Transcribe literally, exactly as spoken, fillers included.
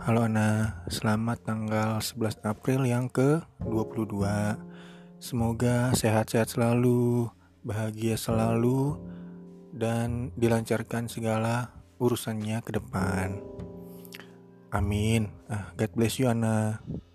Halo Ana, selamat tanggal sebelas April yang ke dua puluh dua. Semoga sehat-sehat selalu, bahagia selalu, dan dilancarkan segala urusannya ke depan. Amin. Ah, God bless you Ana.